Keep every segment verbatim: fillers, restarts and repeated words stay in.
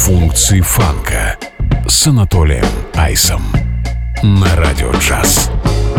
функции фанка с Анатолием Айсом на Радио Джаз.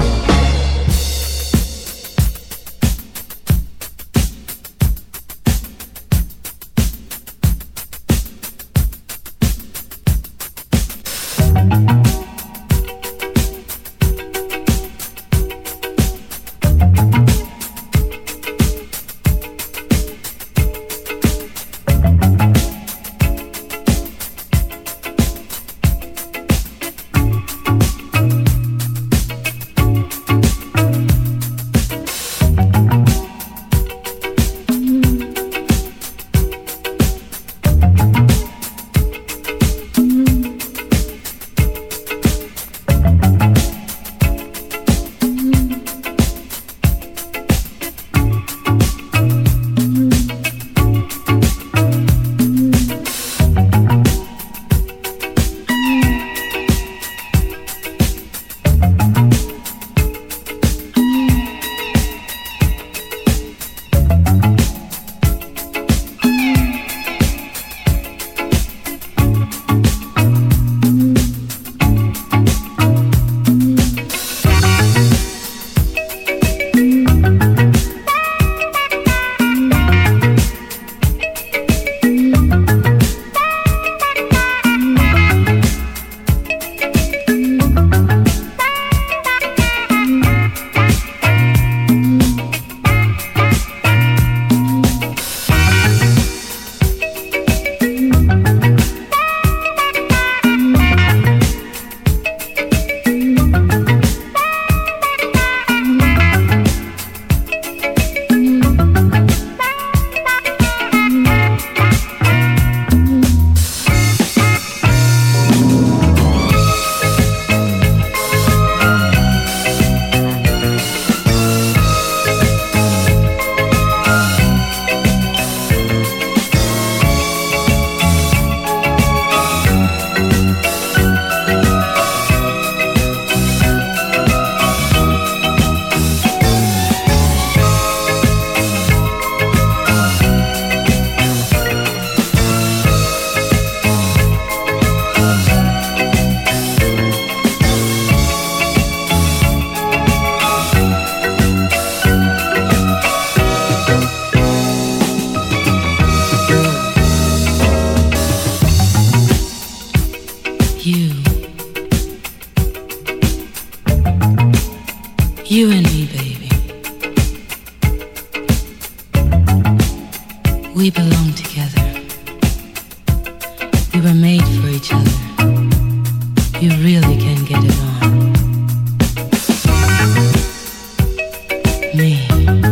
You and me, baby. We belong together. We were made for each other. You really can get it on. Me.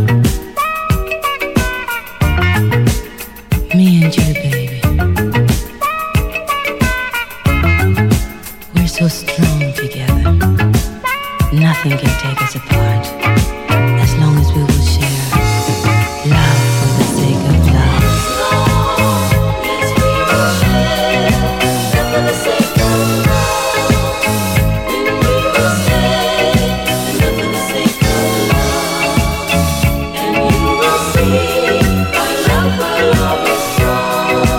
Me and you, baby. We're so strong together. Nothing can take us apart, as long as we will share love for the sake of love. As long as we will share love for the sake of love, then we will stay love for the sake of love, and you will see our love will always grow.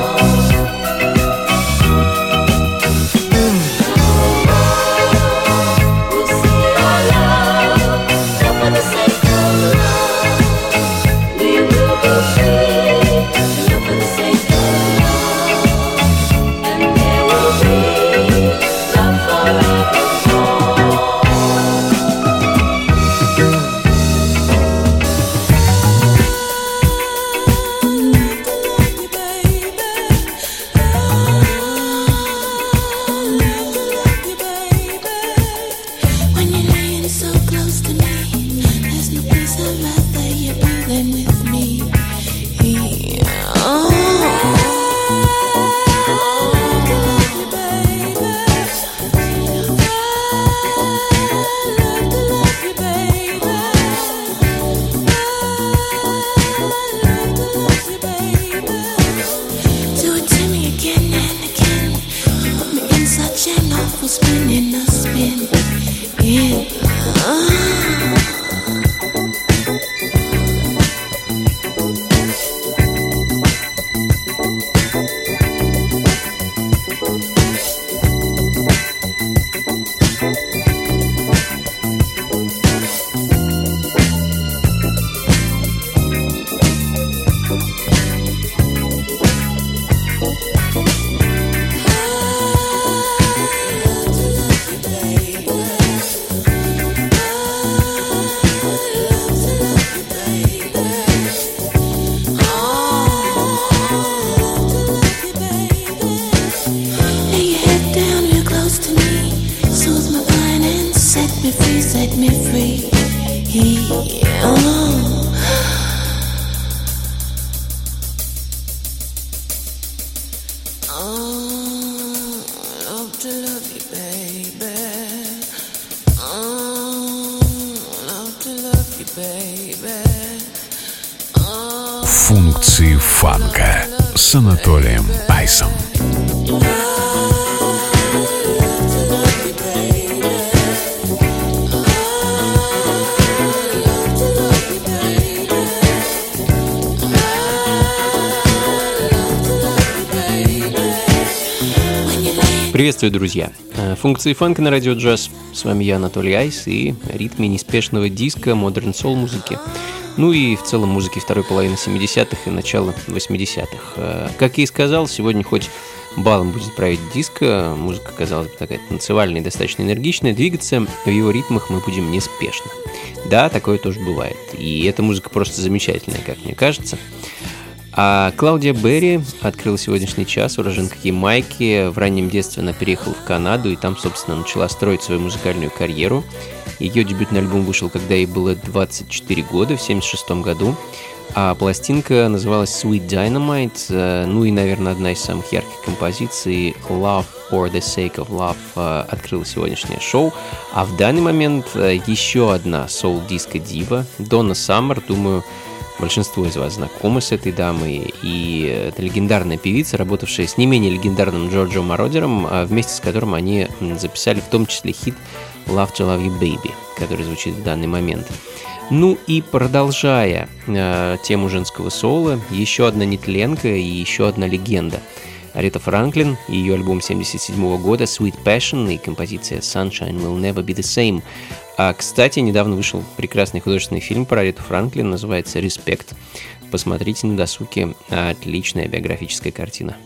Функции фанка с Анатолием Айсом. Приветствую, друзья! Функции фанка на радио джаз. С вами я, Анатолий Айс, и ритмы неспешного диска, модерн сол музыки. Ну и в целом музыки второй половины семидесятых и начала восьмидесятых. Как я и сказал, сегодня хоть балом будет править диско, музыка, казалось бы, такая танцевальная и достаточно энергичная, двигаться в его ритмах мы будем неспешно. Да, такое тоже бывает, и эта музыка просто замечательная, как мне кажется. А Клаудия Берри открыла сегодняшний час, уроженка Ямайки. В раннем детстве она переехала в Канаду и там, собственно, начала строить свою музыкальную карьеру. Ее дебютный альбом вышел, когда ей было двадцать четыре года, в семьдесят шестом году. А пластинка называлась Sweet Dynamite. Ну и, наверное, одна из самых ярких композиций Love for the Sake of Love открыла сегодняшнее шоу. А в данный момент еще одна соул-диско-дива Донна Саммер, думаю, большинство из вас знакомы с этой дамой, и это легендарная певица, работавшая с не менее легендарным Джорджо Мородером, вместе с которым они записали в том числе хит Love to Love You Baby, который звучит в данный момент. Ну и продолжая э, тему женского соло, еще одна нетленка и еще одна легенда. Аретта Франклин и ее альбом семьдесят седьмого года Sweet Passion и композиция Sunshine Will Never Be The Same. А, кстати, недавно вышел прекрасный художественный фильм про Аретту Франклин, называется «Респект». Посмотрите на досуге, отличная биографическая картина.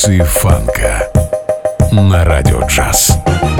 Функции фанка на Радио Джаз.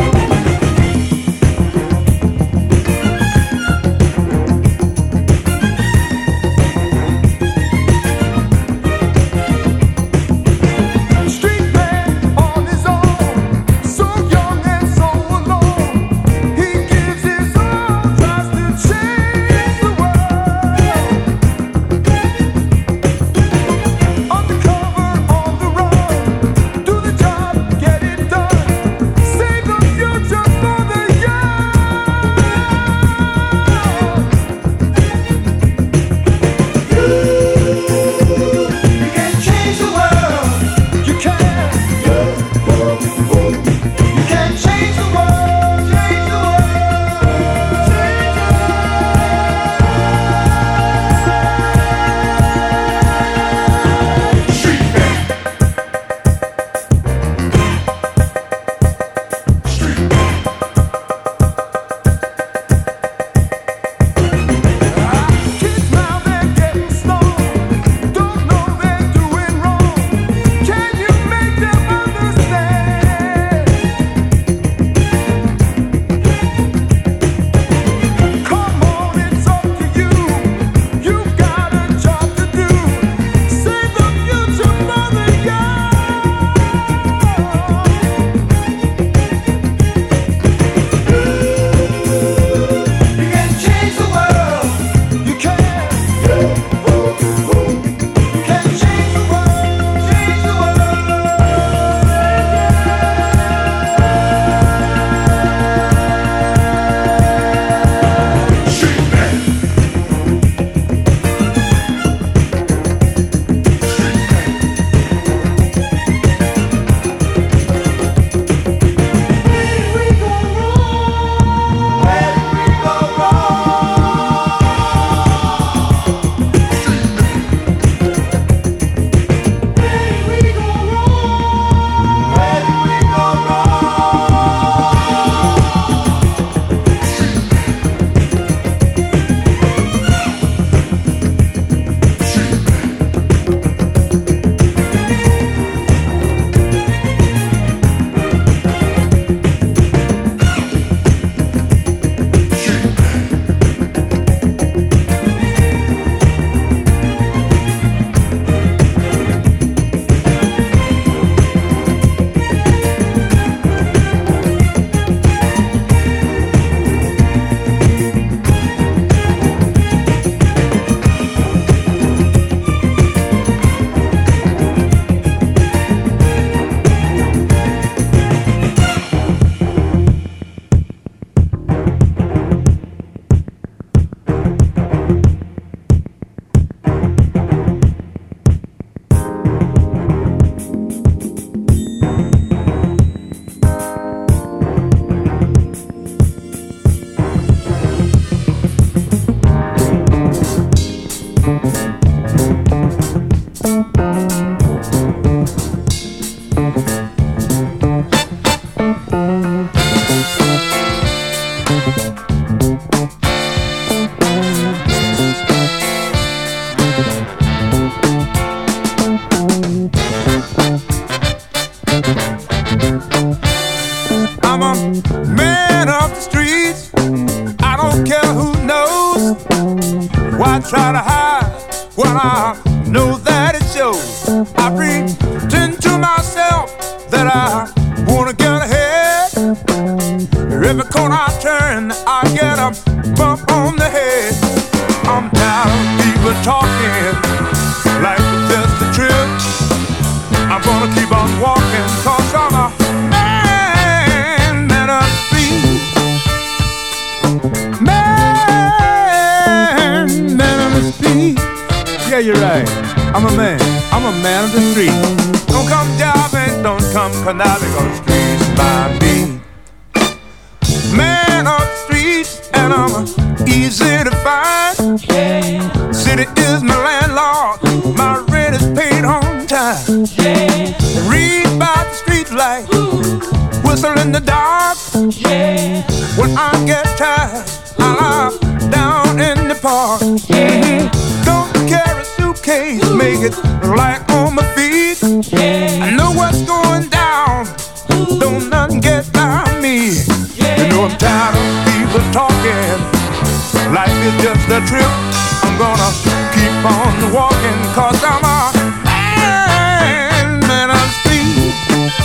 Try to hide when I know that it shows. I pretend to myself that I wanna get ahead. Every corner I turn, I get a bump on the head. I'm tired of people talking like it's just a trip. I'm gonna keep on walking, cause I'm a man, man of the street. Man, man of the street. Yeah, you're right. I'm a man. I'm a man of the street. Don't come jobbing, don't come conniving, cause the streets by me. Man of the streets, and I'm easy to find. City is my landlord, my rent is paid on time. Read by the street light, whistle in the dark. When I get tired, I lie down in the park. Don't carry a suitcase, make it light on my feet. I know what's tired of people talking. Life is just a trip. I'm gonna keep on walking, cause I'm a man, man of speed.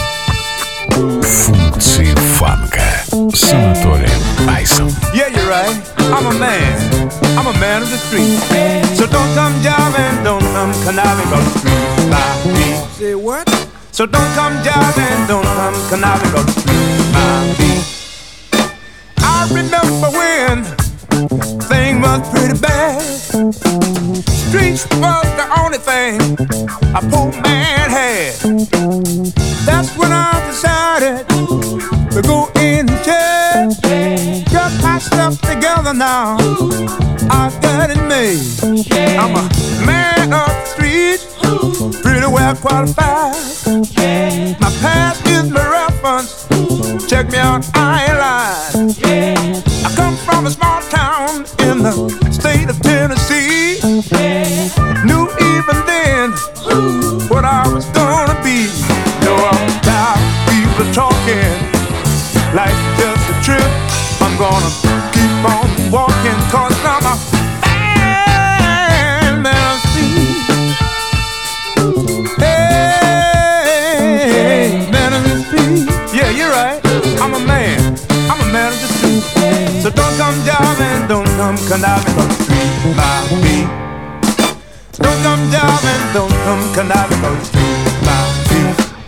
Функции фанка с Анатолием Айсом. Yeah, you're right. I'm a man. I'm a man of the street. So don't come jiving, don't come conniving, cause the streets by me. Say what? So don't come jiving, don't come conniving, cause the streets by me. I remember when things was pretty bad. Streets was the only thing a poor man had. That's when I decided to go in church. Got my stuff together now, I got it made. I'm a man of the streets, pretty well qualified. My past is my reference, check me out, I ain't lying. I come from a small town in the state of Tennessee. Knew even then what I was gonna be. No, I'm tired of people talking like just a trip. I'm gonna keep on walking, cause I'm a man, man of speed. Hey, man of the speed. Yeah, you're right. I'm a man. I'm a man of the street. So don't come jiving, don't come conniving, cause the street by me. Don't come jiving, don't come conniving, cause the street by me.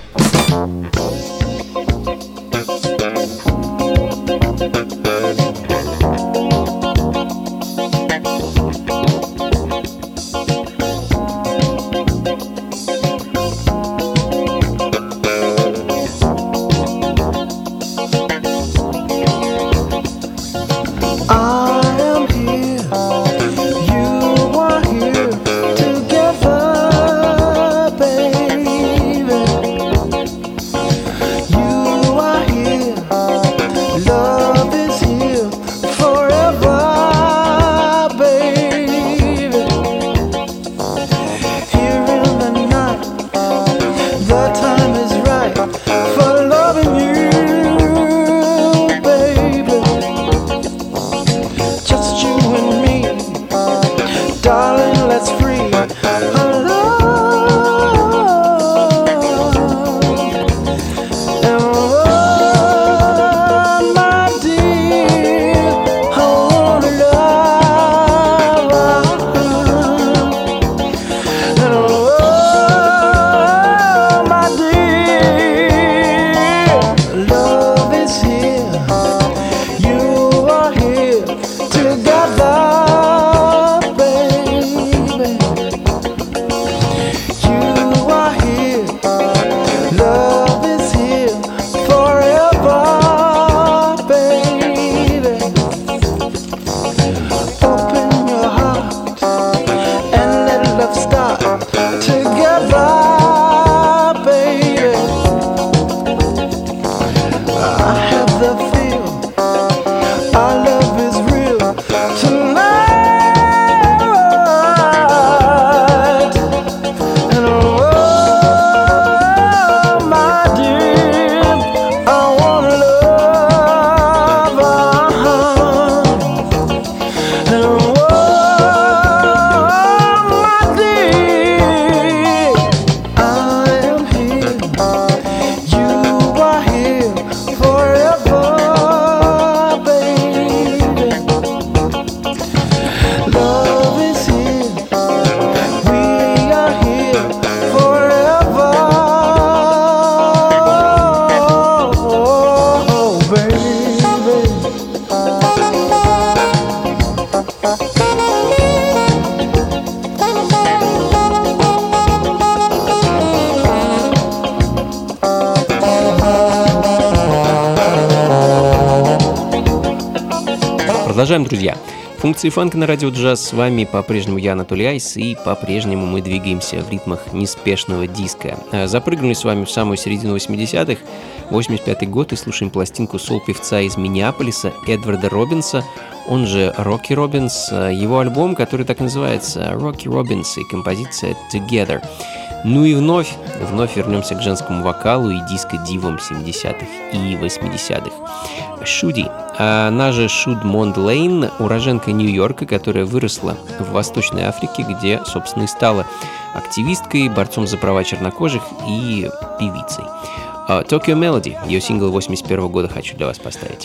Продолжаем, друзья. Функции фанка на радио джаз. С вами по-прежнему я, Анатолий Айс, и по-прежнему мы двигаемся в ритмах неспешного диска. Запрыгнули с вами в самую середину восьмидесятых, восемьдесят пятый год, и слушаем пластинку сол-певца из Миннеаполиса Эдварда Робинса, он же Рокки Робинс, его альбом, который так и называется Рокки Робинс, и композиция Together. Ну и вновь, вновь вернемся к женскому вокалу и диско-дивам семидесятых и восьмидесятых. Шуди, Она же Шудмонд Лейн, уроженка Нью-Йорка, которая выросла в Восточной Африке, где, собственно, и стала активисткой, борцом за права чернокожих и певицей. Tokyo Melody, ее сингл восемьдесят первого года, хочу для вас поставить.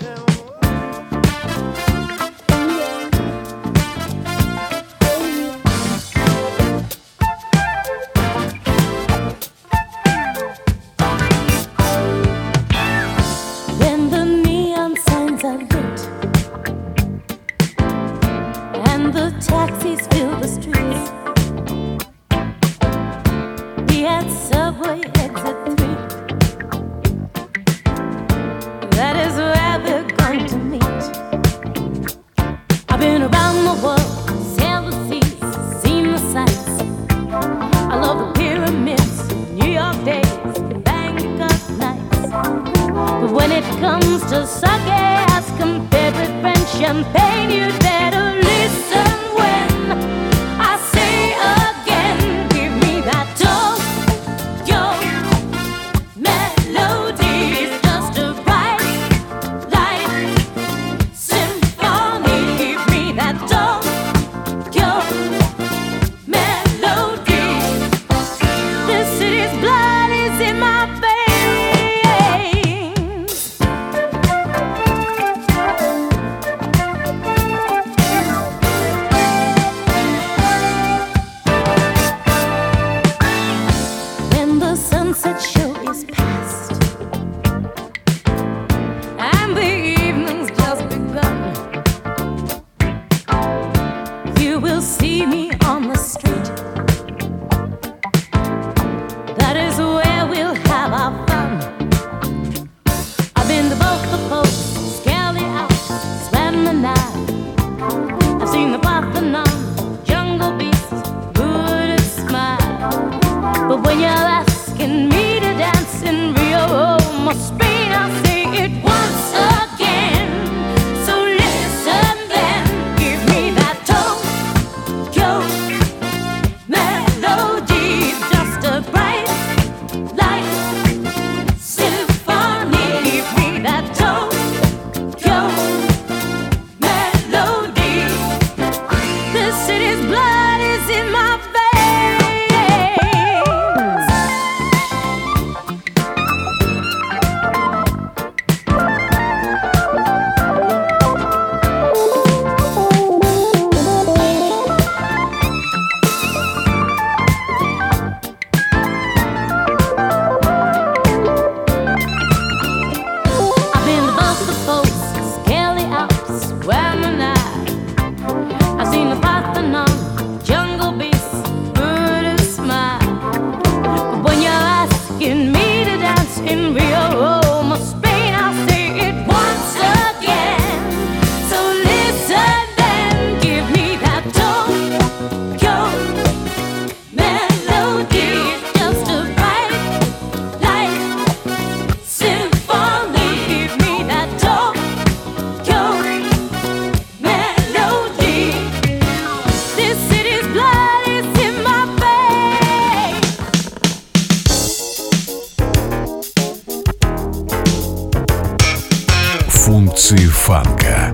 Функции фанка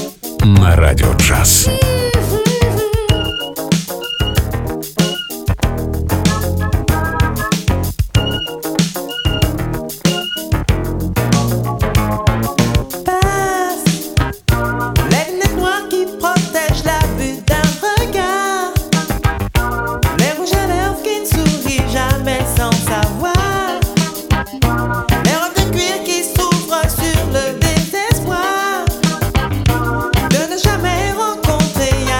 на Радио Джаз. De ne jamais rencontrer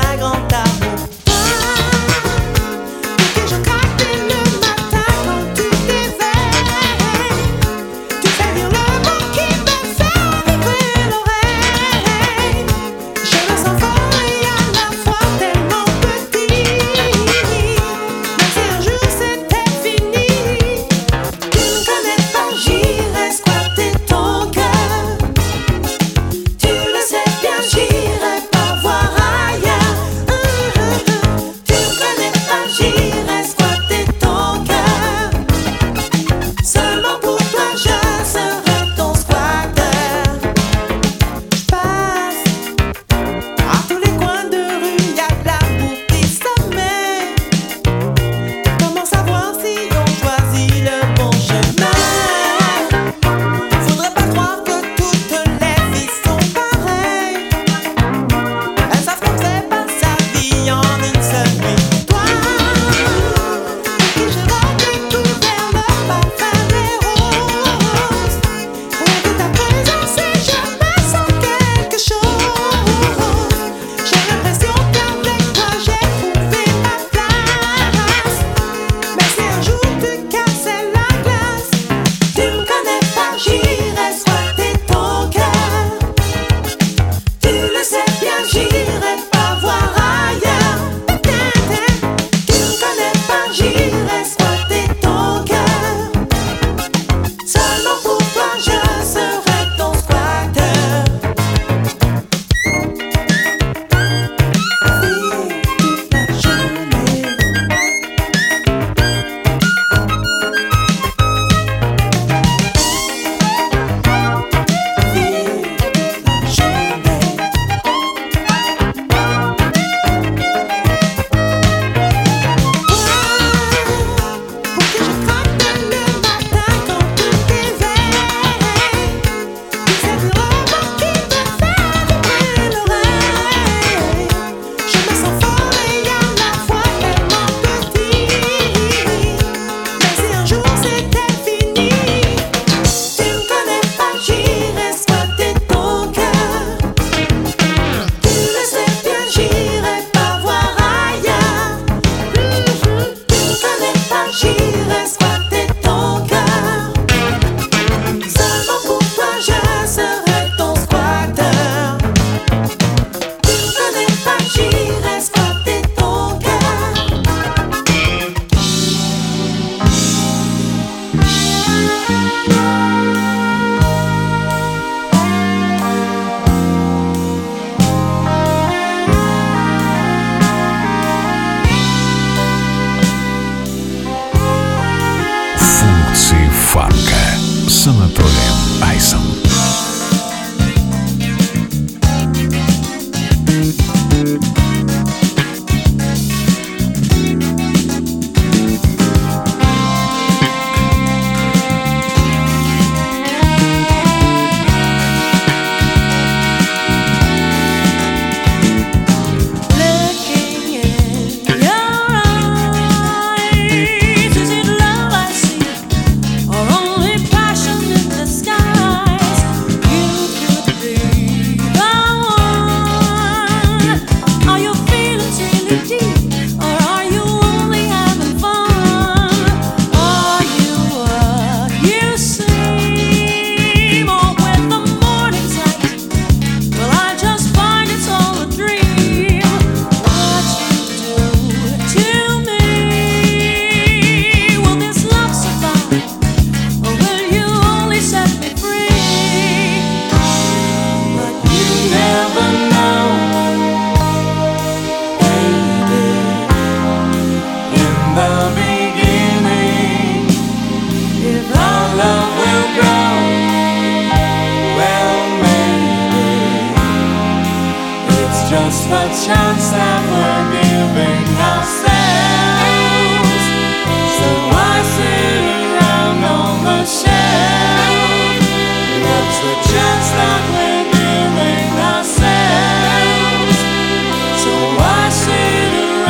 just the chance that we're giving ourselves. So why sit around on the shelf? That's the chance that we're giving ourselves. So why sit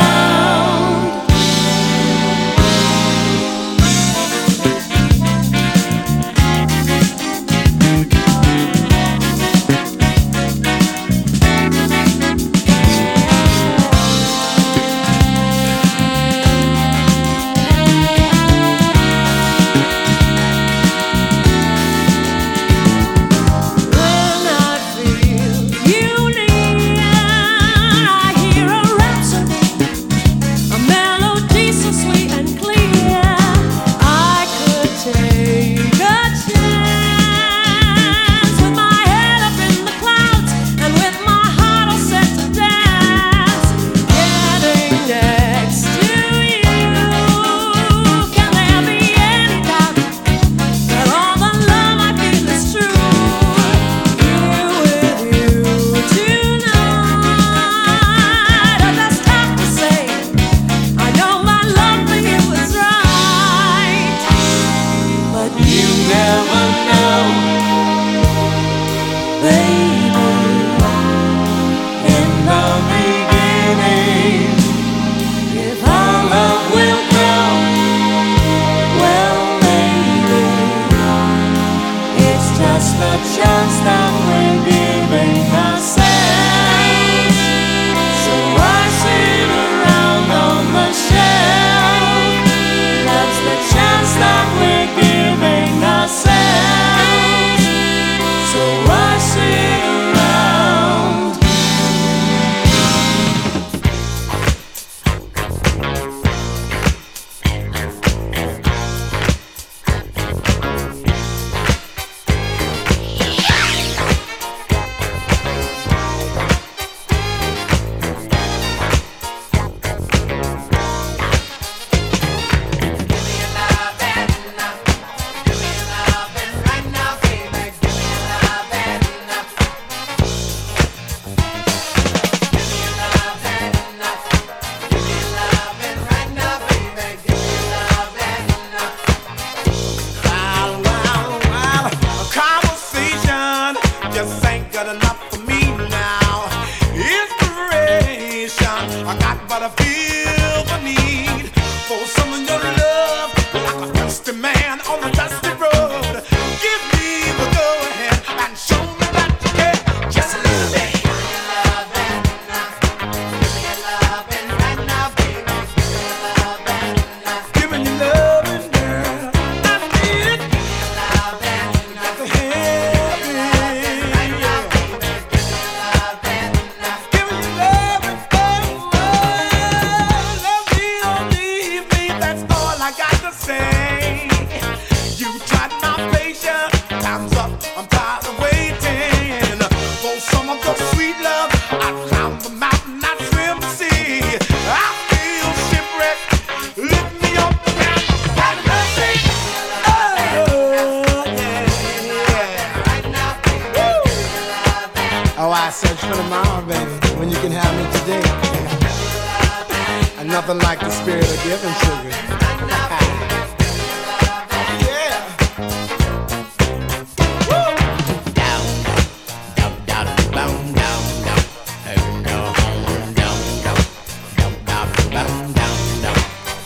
nothing like the spirit of giving, sugar. Yeah. Woo. Down, down, down, down, down, down, down, down, down, down, down, down.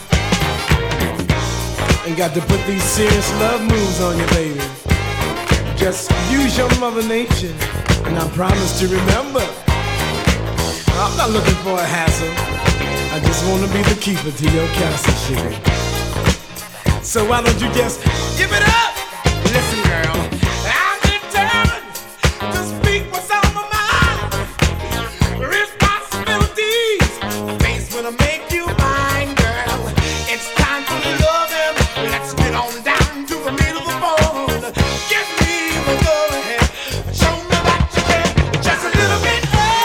Ain't got to put these serious love moves on you, baby. Just use your mother nature, and I promise to remember. I'm not looking for a hassle. I just want to be the keeper to your castle, sugar. So why don't you just give it up? Listen, girl, I'm determined to speak what's on my mind. Responsibilities faced when I make you mine, girl. It's time for loving. Let's get on down to the middle of the phone. Give me the go-ahead. Show me that you can just a little bit.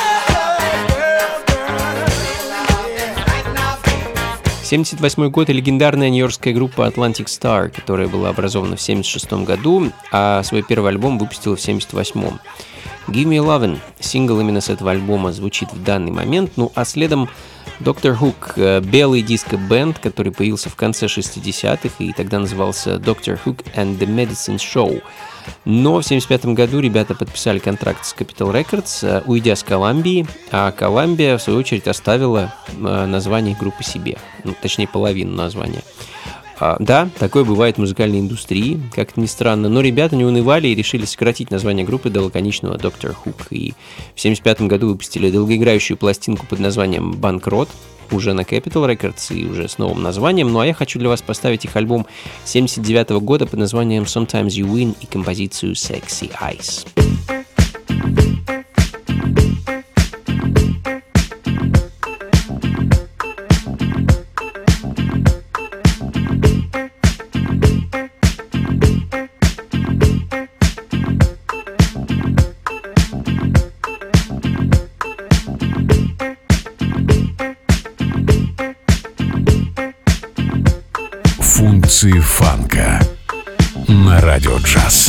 семьдесят восьмой год и легендарная нью-йоркская группа Atlantic Star, которая была образована в семьдесят шестом году, а свой первый альбом выпустила в семьдесят восьмом. Give Me Lovin', сингл именно с этого альбома, звучит в данный момент. Ну а следом доктор Хук, белый диско-бенд, который появился в конце шестидесятых и тогда назывался доктор Hook and the Medicine Show. Но в семьдесят пятом году ребята подписали контракт с Capitol Records, уйдя с Колумбии, а Колумбия, в свою очередь, оставила название группы себе, ну, точнее, половину названия. А, да, такое бывает в музыкальной индустрии, как ни странно, но ребята не унывали и решили сократить название группы до лаконичного доктор Хук. И в семьдесят пятом году выпустили долгоиграющую пластинку под названием «Банкрот», уже на Capitol Records и уже с новым названием. Ну а я хочу для вас поставить их альбом семьдесят девятого года под названием «Sometimes You Win» и композицию «Sexy Eyes». Функции фанка на Радио Джаз.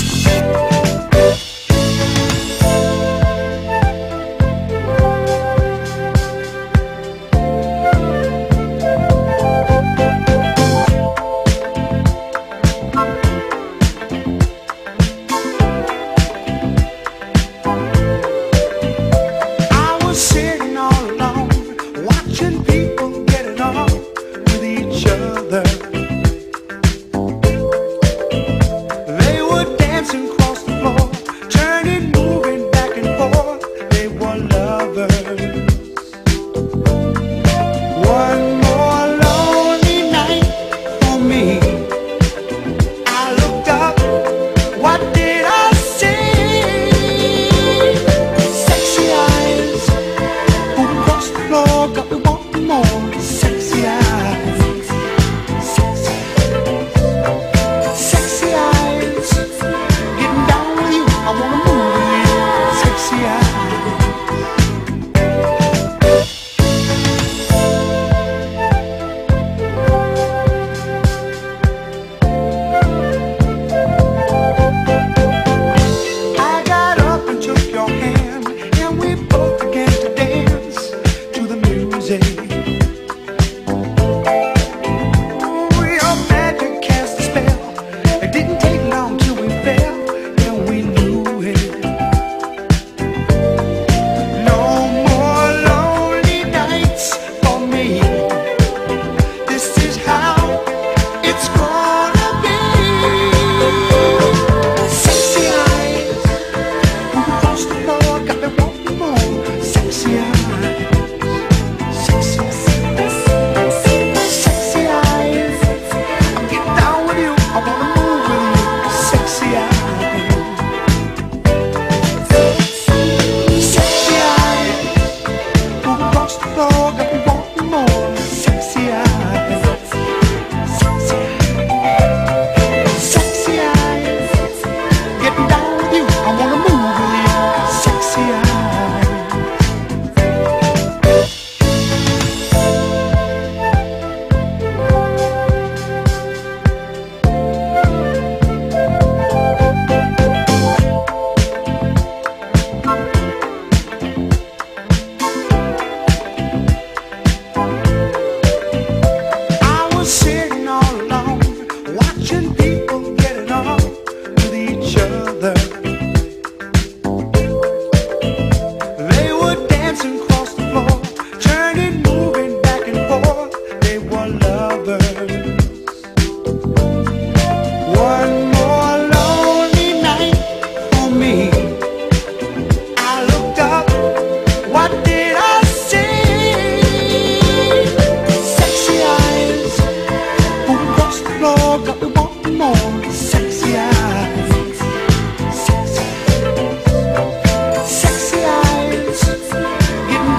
Sexy eyes, getting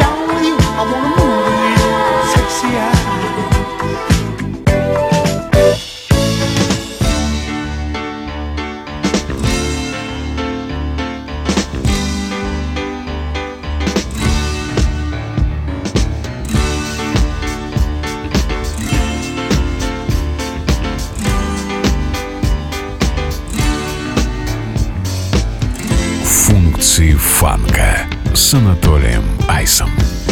фанка с Анатолием Айсом.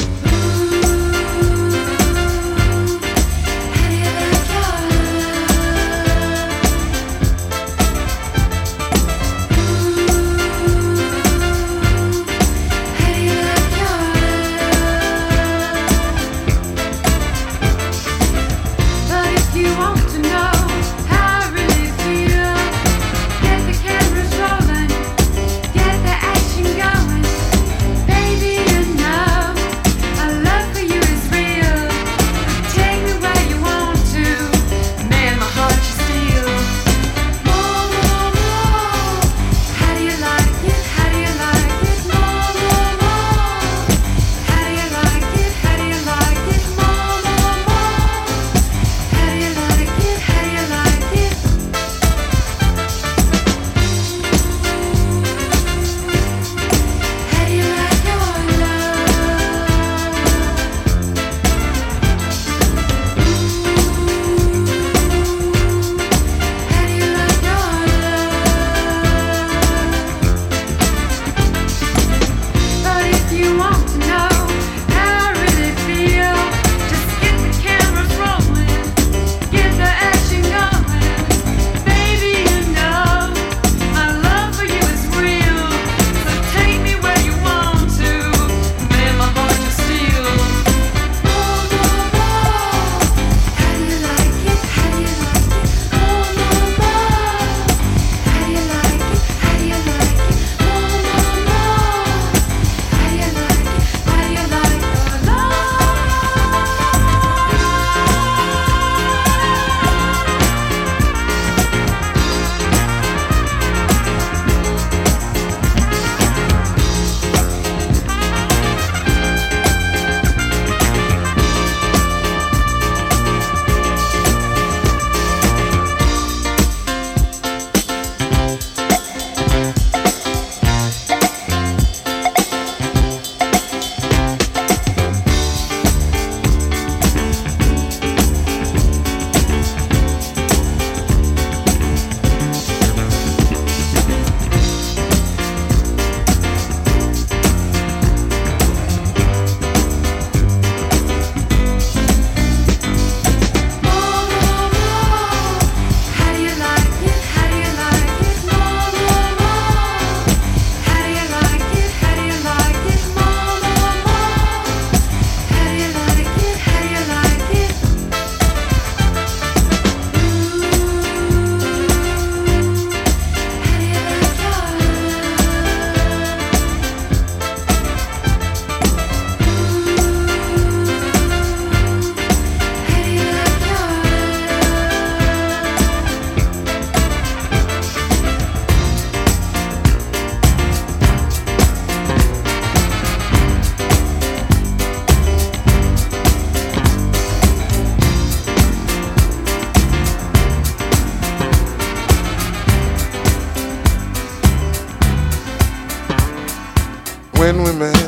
When we met,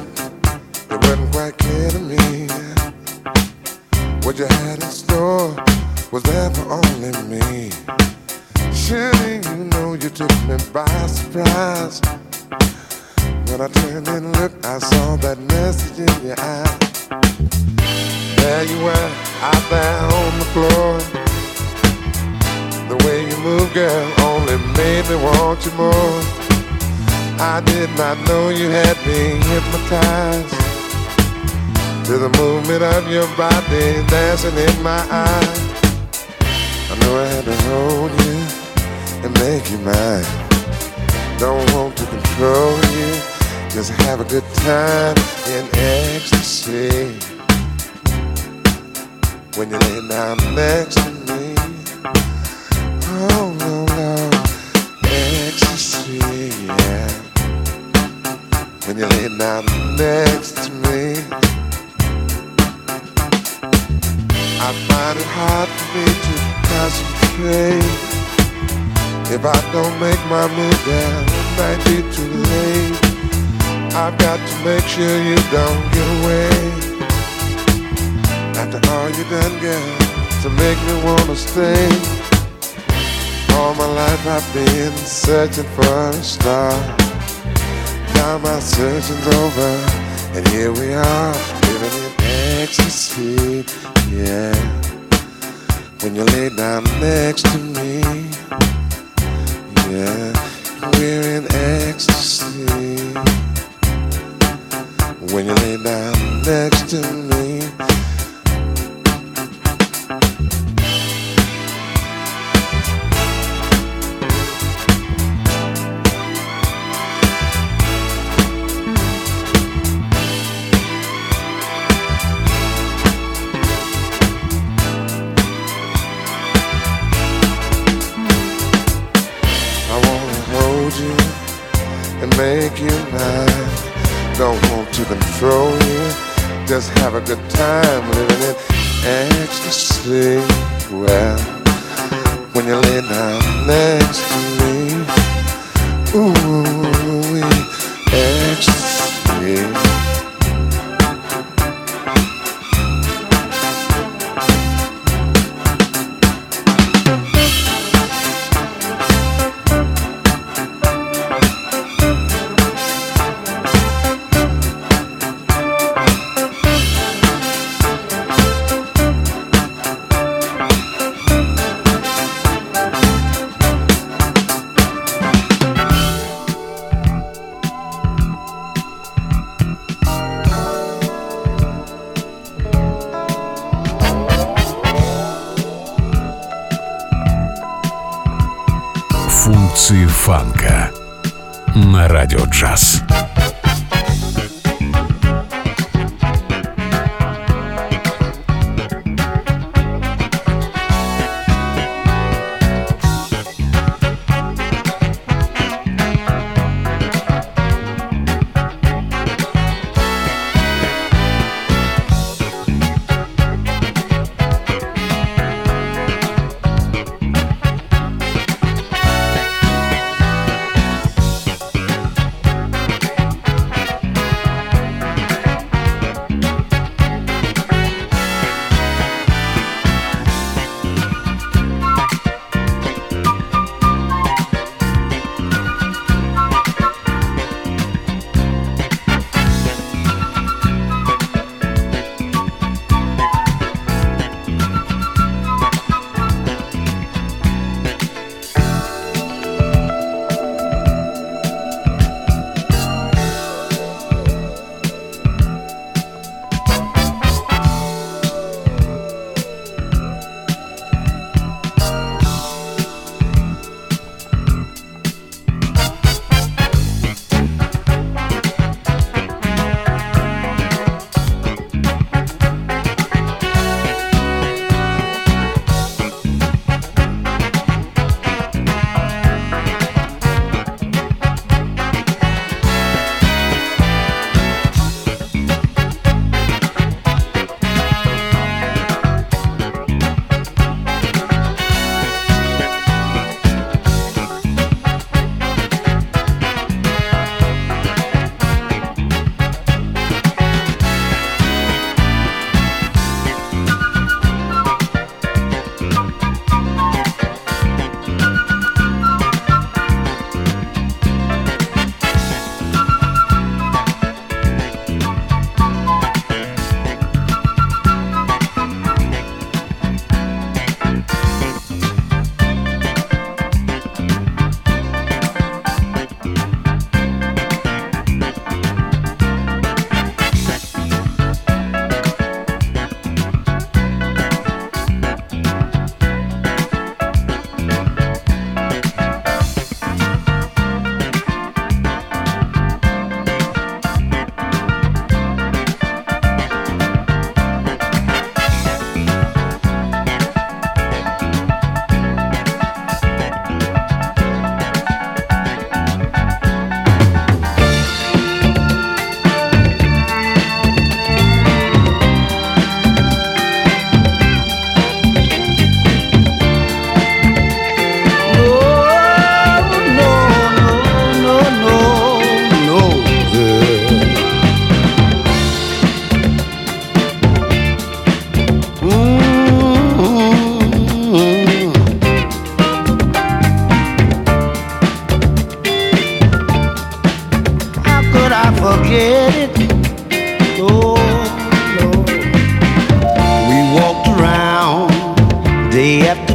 it wasn't quite clear to me what you had in store was there for only me. Surely you know you took me by surprise. When I turned and looked, I saw that message in your eye. There you were, out there on the floor. The way you move, girl, only made me want you more. I did not know you had me hypnotized to the movement of your body dancing in my eyes. I knew I had to hold you and make you mine. Don't want to control you, just have a good time in ecstasy. When you lay down next to me, oh no, no, ecstasy, yeah. When you lay down next to me, I find it hard for me to concentrate. If I don't make my move, then it might be too late. I've got to make sure you don't get away. After all you done, girl, to make me wanna stay. All my life I've been searching for a star. now my searching's over, and here we are, living in ecstasy, yeah. When you lay down next to me, yeah, we're in ecstasy. When you lay down next to me. Make you mine, don't want to control you, just have a good time living in ecstasy. Well, when you lay down next to me, ooh, ecstasy. Функции фанка на Радио Джаз.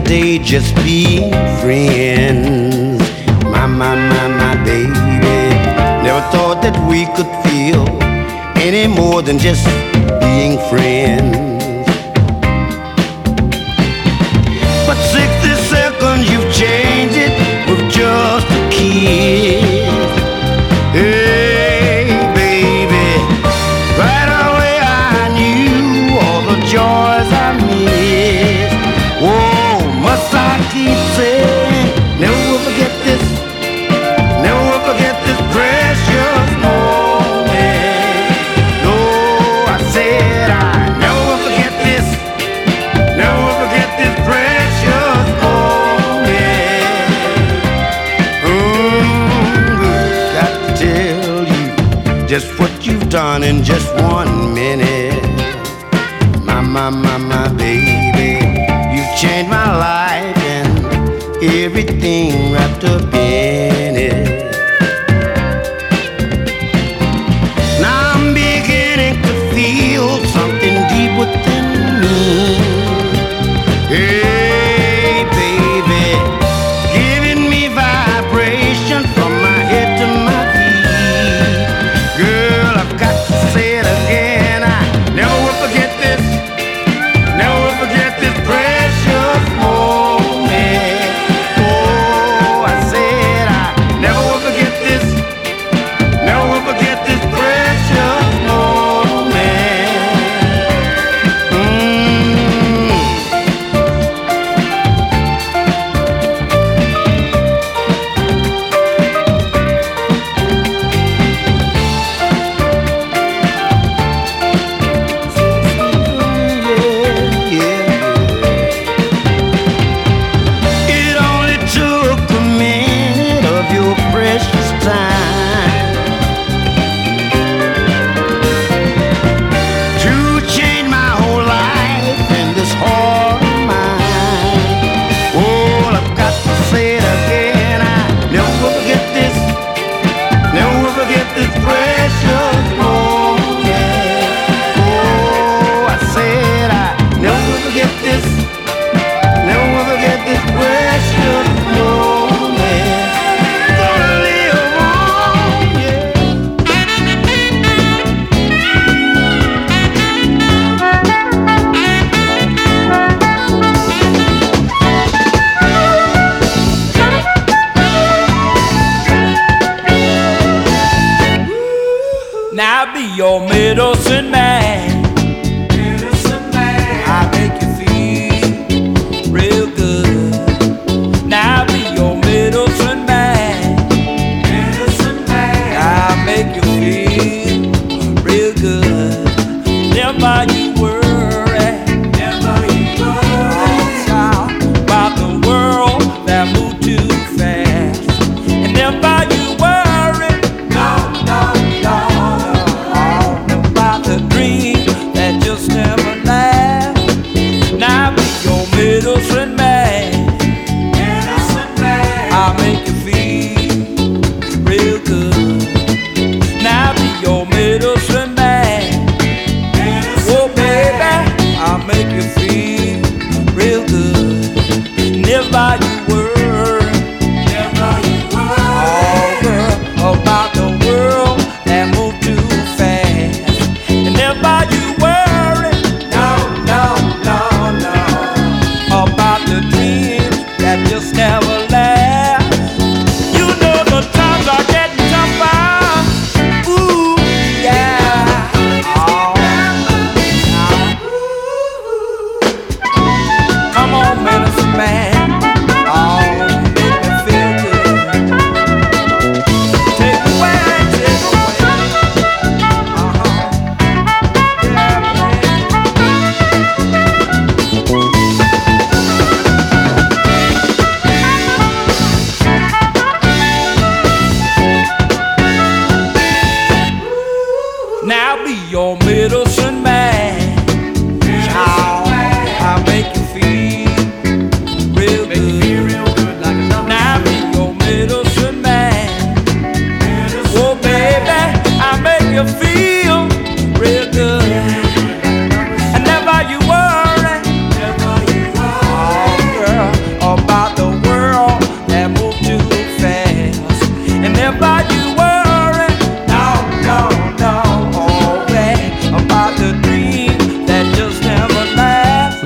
day just being friends. My, my, my, my baby. Never thought that we could feel any more than just being friends. But sixty seconds you've changed it with just a kiss. Hey baby, right away I knew all the joys I missed. Whoa, must I keep saying, never will forget this, never will forget this precious moment. No, I said I never will forget this, never will forget this precious moment. Mm, got to tell you just what you've done in just one minute. My, my, my, my baby, you've changed my life and everything wrapped up in it. Now I'm beginning to feel something deep within me. Hey baby, giving me vibration from my head to my feet. Girl, I've got to say it again, I never will forget this,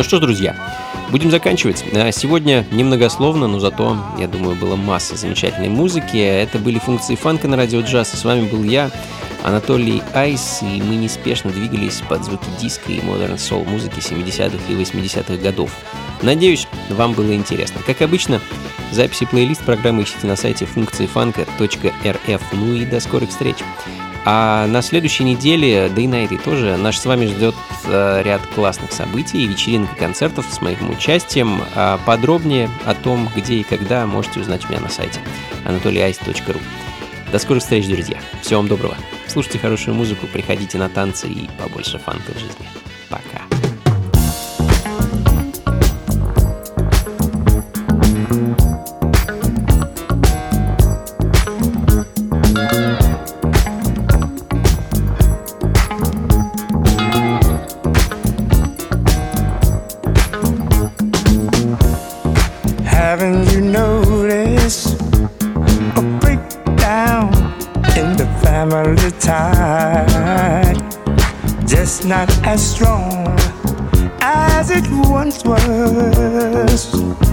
что ж, друзья, будем заканчивать. Сегодня немногословно, но зато, я думаю, было масса замечательной музыки. Это были функции фанка на радио джаз. И с вами был я, Анатолий Айс, и мы неспешно двигались под звуки диска и модерн соул музыки семидесятых и восьмидесятых годов. Надеюсь, вам было интересно. Как обычно, записи плейлист программы ищите на сайте функции фанка точка эр эф. Ну и до скорых встреч. А на следующей неделе, да и на этой тоже, нас с вами ждет э, ряд классных событий, вечеринок и концертов с моим участием. А подробнее о том, где и когда, можете узнать у меня на сайте анатолий айс точка ру. До скорых встреч, друзья. Всего вам доброго. Слушайте хорошую музыку, приходите на танцы и побольше фанка в жизни. Пока. Haven't you noticed a breakdown in the family tie? Just not as strong as it once was.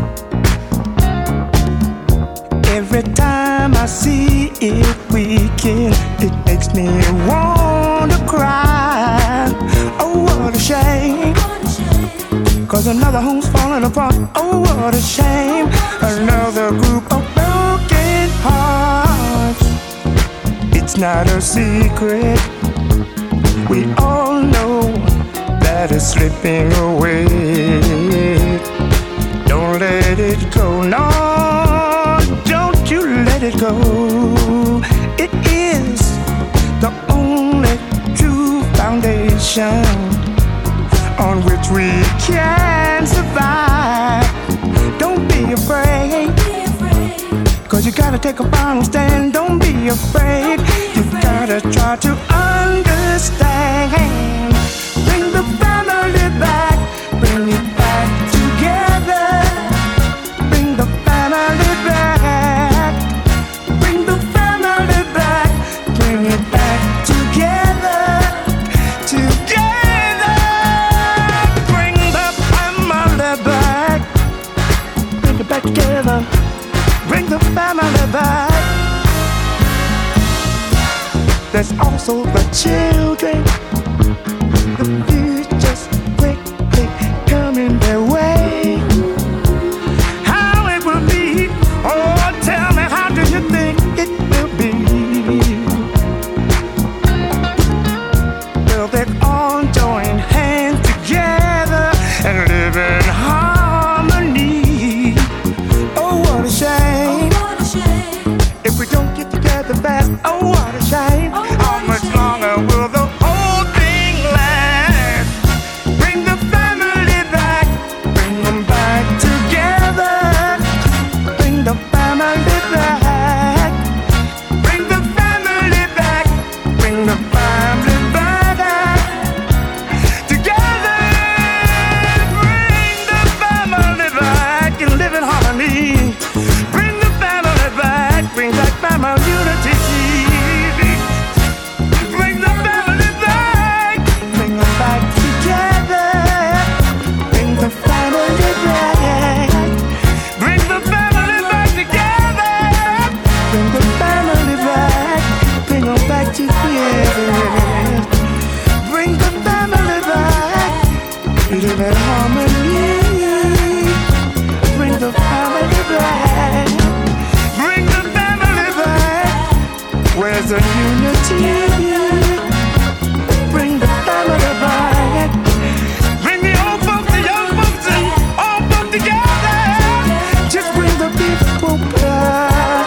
Every time I see it weaken, it makes me want to cry. Oh, what a shame. Cause another home's falling apart. Oh, what a shame. Another group of broken hearts. It's not a secret. We all know that it's slipping away. Don't let it go. No, don't you let it go. It is the only true foundation on which we can survive. Don't be afraid, cause you gotta take a final stand. Don't be afraid, you gotta try to understand. Bring the family back, bring it back together. Bring the family back, bring the family back, bring it back together, together. Back together, bring the family back. There's also the children, the future's quickly coming their way. How it will be, oh tell me, how do you think it will be? Will they all join hands together and live in harmony? What a shame. Oh, what a shame. If we don't get together fast, oh what a shame. Oh, how much longer will the whole thing last? Bring the family back, bring them back together. Bring the family back, bring the family back, bring the family back together. Bring the family back and live in harmony. Bring the family back, bring back family unity. Bring the family back, bring them back together. Bring the family back, bring the family back together. Bring the family back, bring them back together. Bring the family back, live in harmony. Bring the family back, bring the family back. Where's the unity? Bring the family back. Bring the old folks, the young folks, and all folks together. Just bring the people back.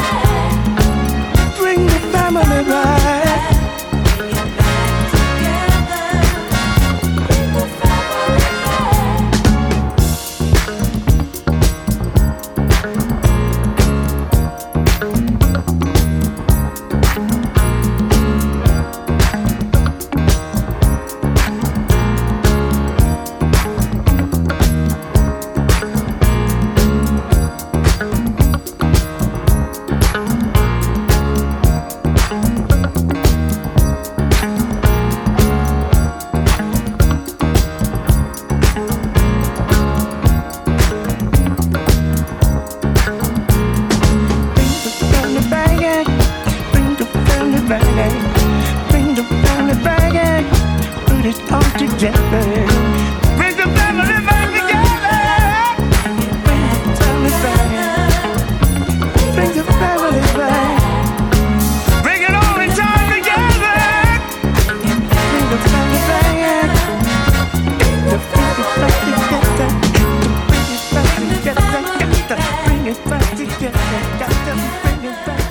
Bring the family back. together. Bring the family back together. Bring the family back. Bring the family back. Bring it all in time together. Bring the family back. The family back together. Bring it back together. Bring it back together. Bring it back.